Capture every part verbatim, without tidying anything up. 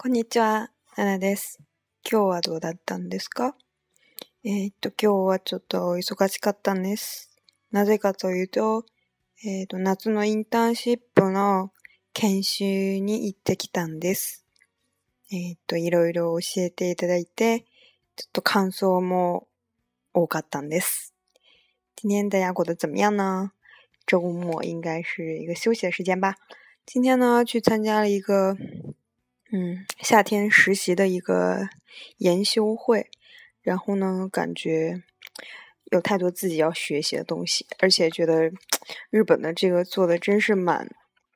こんにちは、ナナです。今日はどうだったんですか？えー、っと、今日はちょっと忙しかったんです。なぜかというと、えー、っと、夏のインターンシップの研修に行ってきたんです。えー、っと、いろいろ教えていただいて、ちょっと感想も多かったんです。今天大家过得怎么样呢？周末应该是一个休息的时间吧。今天呢，去参加了一个嗯，夏天实习的一个研修会，然后呢，感觉有太多自己要学习的东西，而且觉得日本的这个做的真是蛮，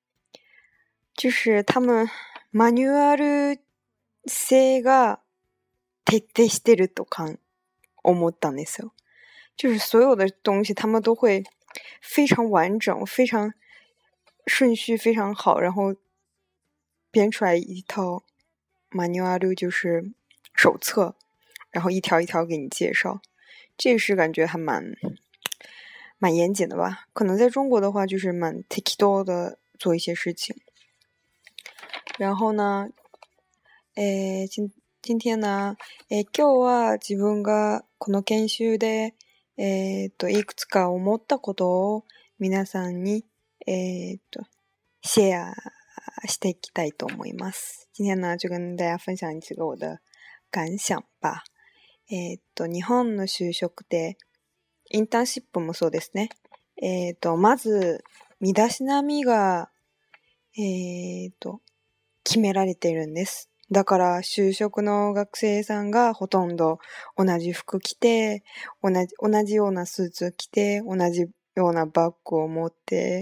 就是他们マニュアル性が徹底してるとか思ったんですよ。就是所有的东西他们都会非常完整，非常顺序非常好，然后编出来一套マニュアル就是手册，然后一条一条给你介绍，这个是感觉还蛮蛮严谨的吧。可能在中国的话就是蛮適当的做一些事情。然后呢，えー、今今天呢、えー、今日は自分がこの研修でえー、っといくつか思ったことを皆さんにえー、っとシェアしていきたいと思います。今天呢就跟大家分享几个我的感想吧。えー、っと日本の就職でインターンシップもそうですね。えー、っとまず身だしなみがえー、っと決められているんです。だから就職の学生さんがほとんど同じ服着て、同じ、同じようなスーツ着て、同じようなバッグを持って、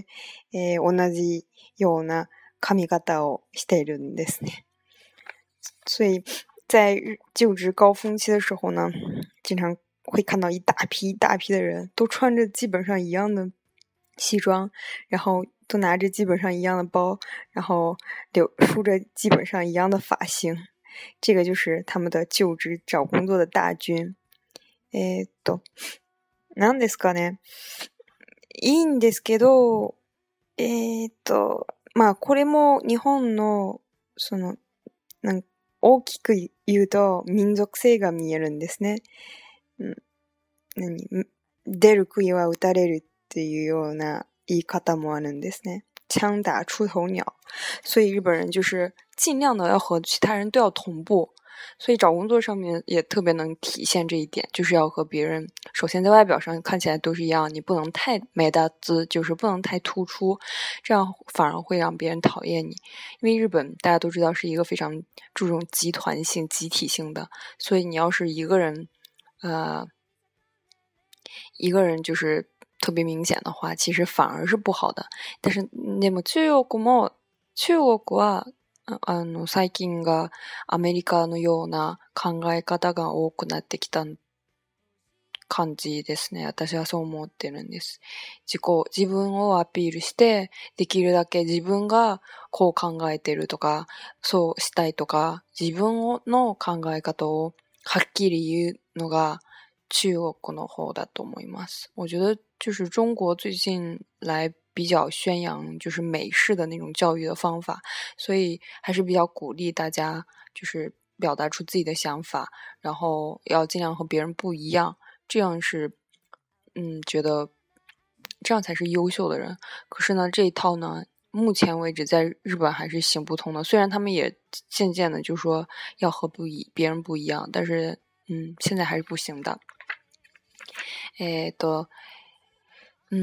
えー、同じような髪型をしているんですね。所以在就职高峰期的时候呢，经常会看到一大批一大批的人都穿着基本上一样的西装，然后都拿着基本上一样的包，然后留梳着基本上一样的发型，这个就是他们的就职找工作的大军。えーっと、何ですかね。いいんですけど、えーっと、まあこれも日本のそのなん大きく言うと民族性が見えるんですね。うん、何出る杭は打たれるっていうような言い方もあるんですね。枪打出头鸟，所以日本人就是尽量的要和其他人都要同步，所以找工作上面也特别能体现这一点，就是要和别人首先在外表上看起来都是一样，你不能太没大姿，就是不能太突出，这样反而会让别人讨厌你。因为日本大家都知道是一个非常注重集团性集体性的，所以你要是一个人呃一个人就是特别明显的话，其实反而是不好的。但是でも中国も中国はあの最近がアメリカのような考え方が多くなってきた感じですね。私はそう思ってるんです。自己、自分をアピールして、できるだけ自分がこう考えてるとか、そうしたいとか、自分の考え方をはっきり言うのが中国の方だと思います。我觉得就是中国最近来比较宣扬就是美式的那种教育的方法，所以还是比较鼓励大家就是表达出自己的想法，然后要尽量和别人不一样，这样是嗯觉得这样才是优秀的人。可是呢这一套呢目前为止在日本还是行不通的，虽然他们也渐渐的就说要和不一别人不一样，但是嗯现在还是不行的。えっと、うん、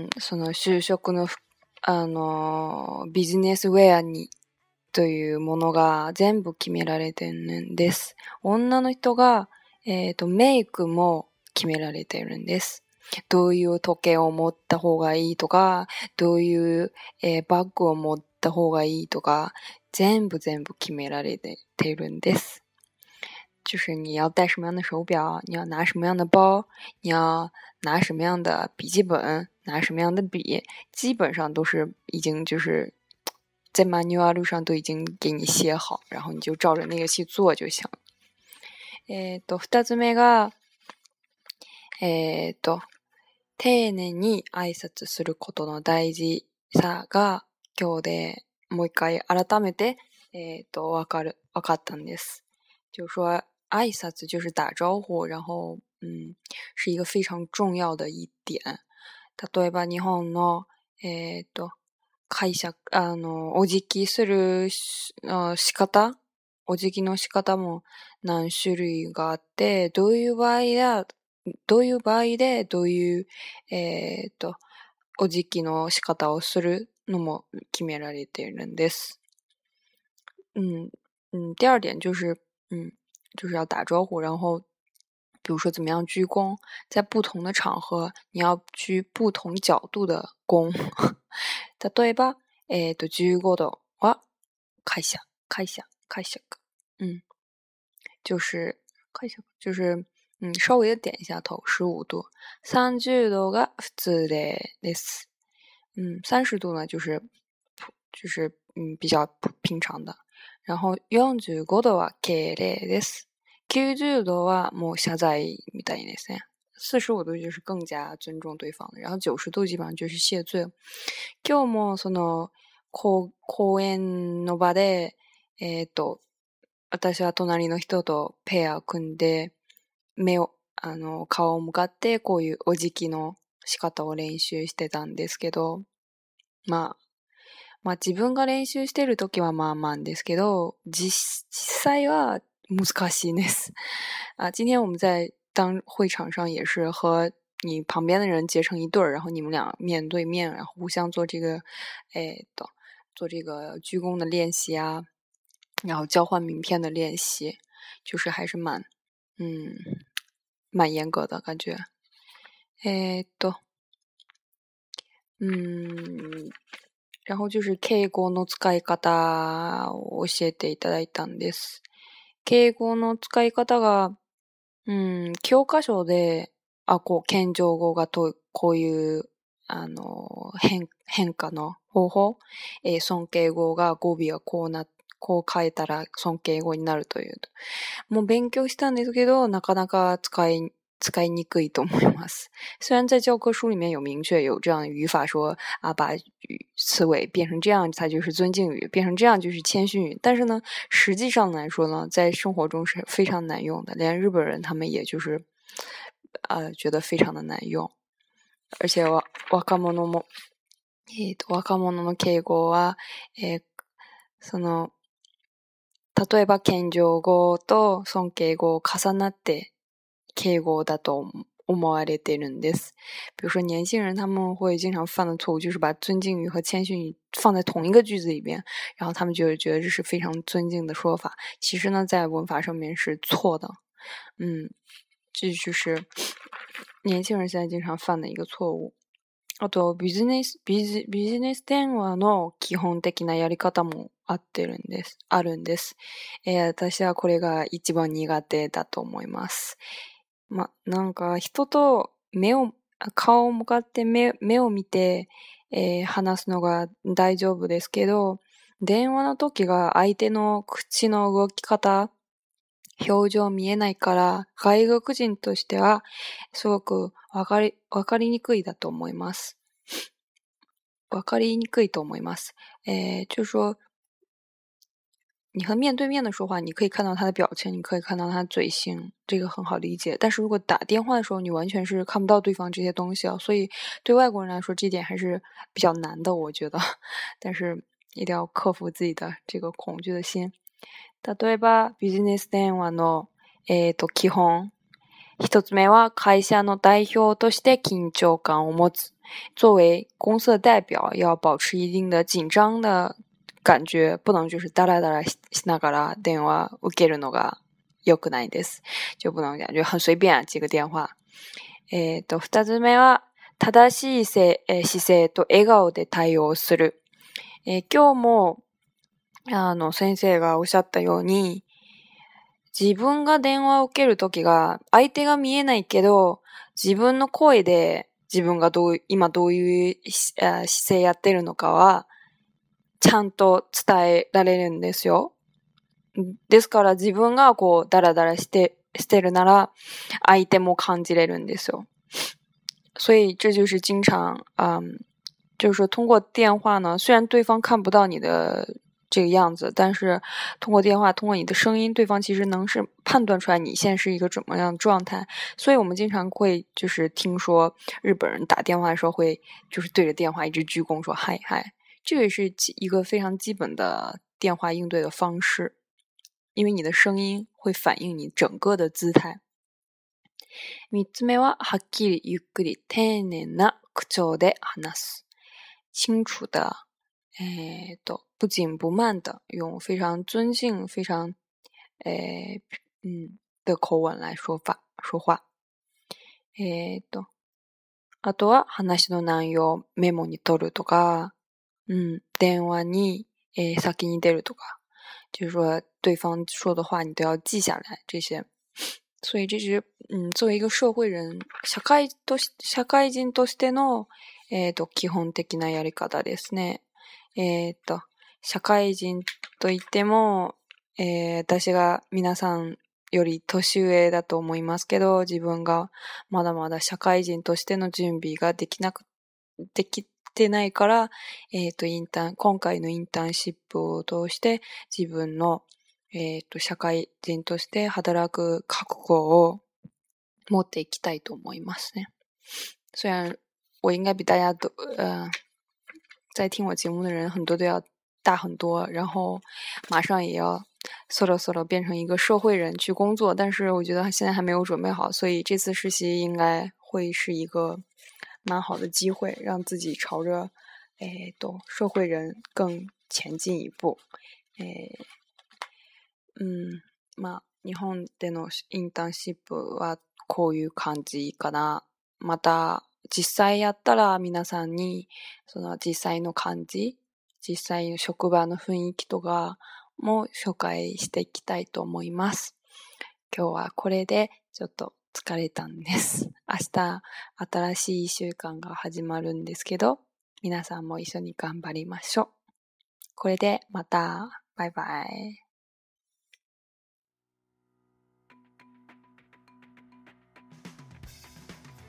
その就職の、あの、ビジネスウェアにというものが全部決められてるんです。女の人が、えっと、メイクも決められてるんです。どういう時計を持った方がいいとか、どういう、えー、バッグを持った方がいいとか、全部全部決められてるんです。就是你要戴什么样的手表，你要拿什么样的包，你要拿什么样的笔记本，拿什么样的笔，基本上都是已经就是在 manual 上都已经给你写好，然后你就照着那个去做就行。えっと二つ目がえっと丁寧に挨拶することの大事さが今日でもう一回改めてえっとわかる分かったんです。就是说挨拶就是打招呼，然后嗯是一个非常重要的一点。例えば日本のえっと会社あのお辞儀する仕方、お辞儀の仕方も何種類があって、どういう場合だどういう場合でどういうえっとお辞儀の仕方をするのも決められているんです。嗯嗯，第二点就是嗯，就是要打招呼，然后比如说怎么样鞠躬，在不同的场合你要鞠不同角度的躬。例えば、えっとじゅうごどは会社会社会社嗯，就是会社就是嗯稍微的点一下头，十五度。三十度が普通です。嗯，三十度呢就是就是嗯比较平常的。然后よんじゅうごどは敬礼です。きゅうじゅうどはもう謝罪みたいですね。四十五度就是更加尊重对方的，然后九十度基本上就是谢罪。今日もその講演の場で、えっと、私は隣の人とペアを組んで、目を、あの、顔を向かってこういうお辞儀の仕方を練習してたんですけど、まあ、まあ自分が練習してるときはまあまあですけど、実際は難しいです。啊，今天我们在当会场上也是和你旁边的人结成一对儿，然后你们俩面对面，然后互相做这个，哎的，做这个鞠躬的练习啊，然后交换名片的练习，就是还是蛮，嗯，蛮严格的感觉。哎的，嗯。然后就是敬語の使い方を教えていただいたんです。敬語の使い方が、うん、教科書で、あ、こう、謙譲語がと、こういう、あの、変、変化の方法、えー、尊敬語が語尾はこうな、こう変えたら尊敬語になるという。もう勉強したんですけど、なかなか使い、使いにくいと思います。虽然在教科书里面有明确有这样的语法说啊，把词尾变成这样它就是尊敬语，变成这样就是谦逊语，但是呢，实际上来说呢，在生活中是非常难用的，连日本人他们也就是呃觉得非常的难用。而且わ若者もえっと若者の敬語はえー、その例えば謙譲語と尊敬語を重なって敬語だと思われてるんです。比如说年轻人他们会经常犯的错误就是把尊敬语和谦逊语放在同一个句子里边，然后他们就觉得这是非常尊敬的说法，其实呢在文法上面是错的。嗯，这就是年轻人现在经常犯的一个错误。あとビジネスビジビジネス電話の基本的なやり方もあってるんです。あるんです。えー、私はこれが一番苦手だと思います。ま、なんか人と目を、顔を向かって目、目を見て、えー、話すのが大丈夫ですけど、電話の時が相手の口の動き方、表情見えないから、外国人としてはすごくわかり、わかりにくいだと思います。わかりにくいと思います。えー、就是说、你和面对面的说话，你可以看到他的表情，你可以看到他的嘴型，这个很好理解。但是如果打电话的时候，你完全是看不到对方这些东西啊，所以对外国人来说，这点还是比较难的，我觉得。但是一定要克服自己的这个恐惧的心。例えば、ビジネス電話の、えっと、基本。一つ目は、会社の代表として緊張感を持つ。作为公司的代表，要保持一定的緊張的感觉，不能就是ダラダラしながら電話受けるのが良くないです。就不能感觉很随便接个電話。えっと、二つ目は、正しい姿勢と笑顔で対応する。えー、今日も、あの、先生がおっしゃったように、自分が電話を受けるときが、相手が見えないけど、自分の声で自分がどう、今どういう姿勢やってるのかは、ちゃんと伝えられるんですよ。ですから自分がこうダラダラしてしてるなら相手も感じれるんですよ。所以这就是经常嗯，就是说通过电话呢，虽然对方看不到你的这个样子，但是通过电话，通过你的声音，对方其实能是判断出来你现在是一个怎么样的状态。所以我们经常会就是听说日本人打电话的时候会就是对着电话一直鞠躬说嗨嗨，这个也是一个非常基本的电话应对的方式，因为你的声音会反映你整个的姿态。三つ目ははっきりゆっくり丁寧な口調で話す。清楚的えーと、不紧不慢的用非常尊敬、非常えー嗯的口吻来说法说話。えーと、あとは話の内容をメモに取るとか、うん、電話に、えー先に出るとか、就是说对方说的话你都要记下来这些。所以这是嗯作为一个社会人、社会とし社会人としてのえーと基本的なやり方ですね。えーと社会人といっても、えー、私が皆さんより年上だと思いますけど、自分がまだまだ社会人としての準備ができなく、できてないから、えっと、インターン、今回のインターンシップを通して自分の、えっと、社会人として働く覚悟を持っていきたいと思いますね。虽然我应该比大家都，呃，在听我节目的人很多都要大很多，然后马上也要そろそろ变成一个社会人去工作，但是我觉得现在还没有准备好，所以这次实习应该会是一个蛮好的機会，让自己朝着えっと社会人更前進一步。えー、うん、まあ日本でのインターンシップはこういう感じかな。また実際やったら皆さんにその実際の感じ、実際の職場の雰囲気とかも紹介していきたいと思います。今日はこれでちょっと疲れたんです。明日新しいいっしゅうかんが始まるんですけど、皆さんも一緒に頑張りましょう。これでまた、バイバイ。